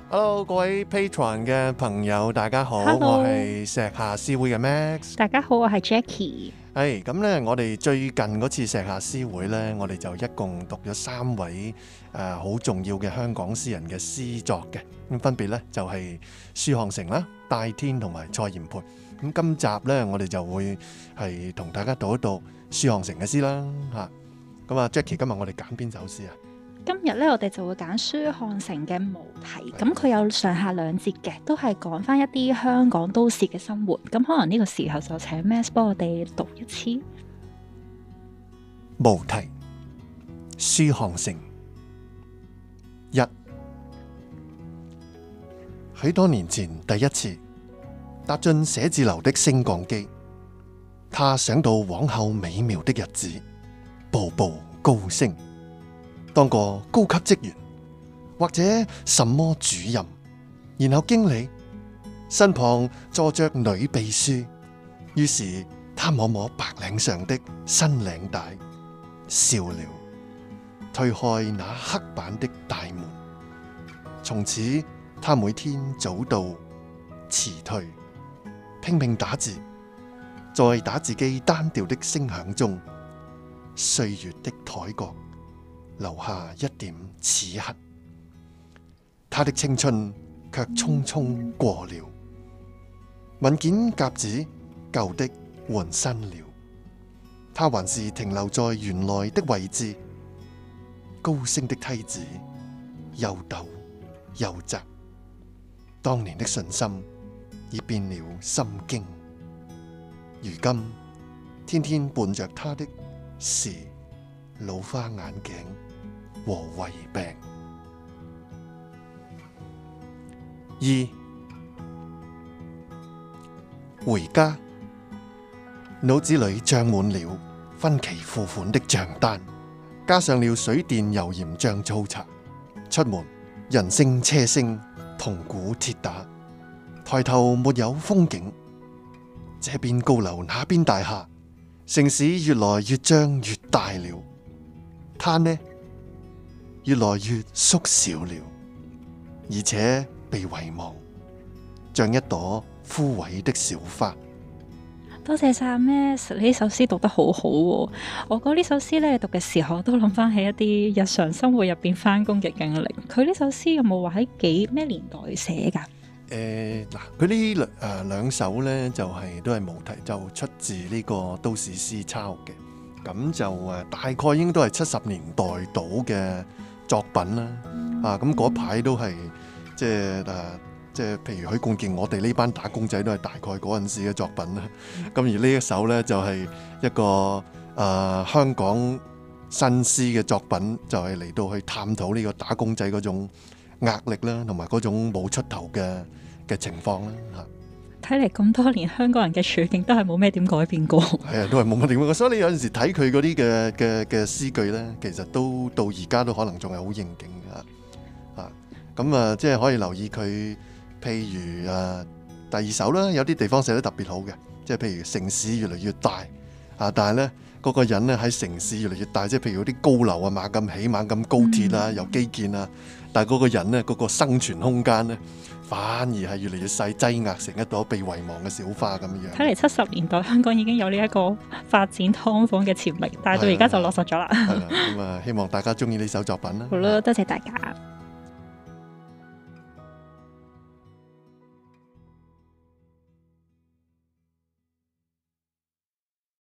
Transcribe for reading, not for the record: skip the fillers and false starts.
Hello， 各位 Patreon 嘅朋友，大家好。 Hello. 我係石下詩會嘅 Max。 大家好，我係 Jackie。 係咁咧，我哋最近嗰次石下詩會咧，我哋就一共讀咗3位好重要嘅香港詩人嘅詩作嘅。咁分別咧就係舒漢成啦、戴天同埋蔡炎培。咁今集咧，我哋就會係同大家讀一讀舒漢成嘅詩啦。嚇，咁啊 Jackie，今日我哋揀邊首詩啊？ 今日咧，我哋就會揀舒漢成嘅《無題》，咁佢有上下2節嘅，都係講翻一啲香港都市嘅生活。咁可能呢個時候就請 Max 幫我哋讀一次《 無題》。舒漢成。1，許多年前第一次踏進寫字樓的升降機，他想到往後美妙的日子，步步高升，當個高級職員，或者什麼主任，然後經理，身旁坐着女秘書。於是他摸摸白領上的新領帶，笑了，推開那黑板的大門。從此他每天早到遲退，拼命打字，在打字機單調的聲響中，歲月的台角留下一點齒痕，他的青春卻匆匆過了。文件夾子舊的換新了，他還是停留在原來的位置。高升的梯子又陡又窄，當年的信心已變了心經。如今天天伴着他的是老花眼鏡和胃病。2，回家，腦子裏漲滿了分期付款的賬單，加上了水電油鹽醬醋茶。出門，人聲車聲，銅鼓鐵打，抬頭沒有風景，這邊高樓那邊大廈，城市越來越漲越大了，他呢，越來越縮小了，而且被遺忘，像一朵枯萎的小花。 多謝晒 Max，呢首詩讀得好好喎。我覺得呢首詩咧讀嘅時候，都諗翻起一啲日常生活入邊翻工嘅經歷。佢呢首詩有冇話喺咩年代寫㗎？ 嗱，佢呢兩首咧就都係無題，就出自呢個都市詩抄嘅。咁就大概應該都係70年代到嘅作品啦。咁嗰排都係即係譬如許冠傑，我哋呢班打工仔都係大概嗰陣時嘅作品啦。咁而呢一首呢，就係一個香港新詩嘅作品，就係嚟到去探討呢個打工仔嗰種壓力啦，同埋嗰種冇出頭嘅情況啦。 睇嚟咁多年香港人嘅處境都係冇咩點改變過。係啊，都係冇乜點改變過。所以你有陣時睇佢嗰啲嘅詩句呢，其實都到而家都可能仲係好應景嘅。咁即係可以留意佢。譬如第2首啦，有啲地方寫得特別好嘅，即係譬如城市越嚟越大但係呢嗰個人呢喺城市越嚟越大，即係譬如嗰啲高樓啊、猛咁起、猛咁高鐵啊、有基建啊，但係嗰個人呢，嗰個生存空間呢，反而係越嚟越細，擠壓成一朵被遺忘嘅小花咁樣。 睇嚟70年代香港已經有呢一個發展劏房嘅潛力，但係到而家就落實咗啦。 係啦，咁希望大家中意呢首作品啦。 好啦，多謝大家。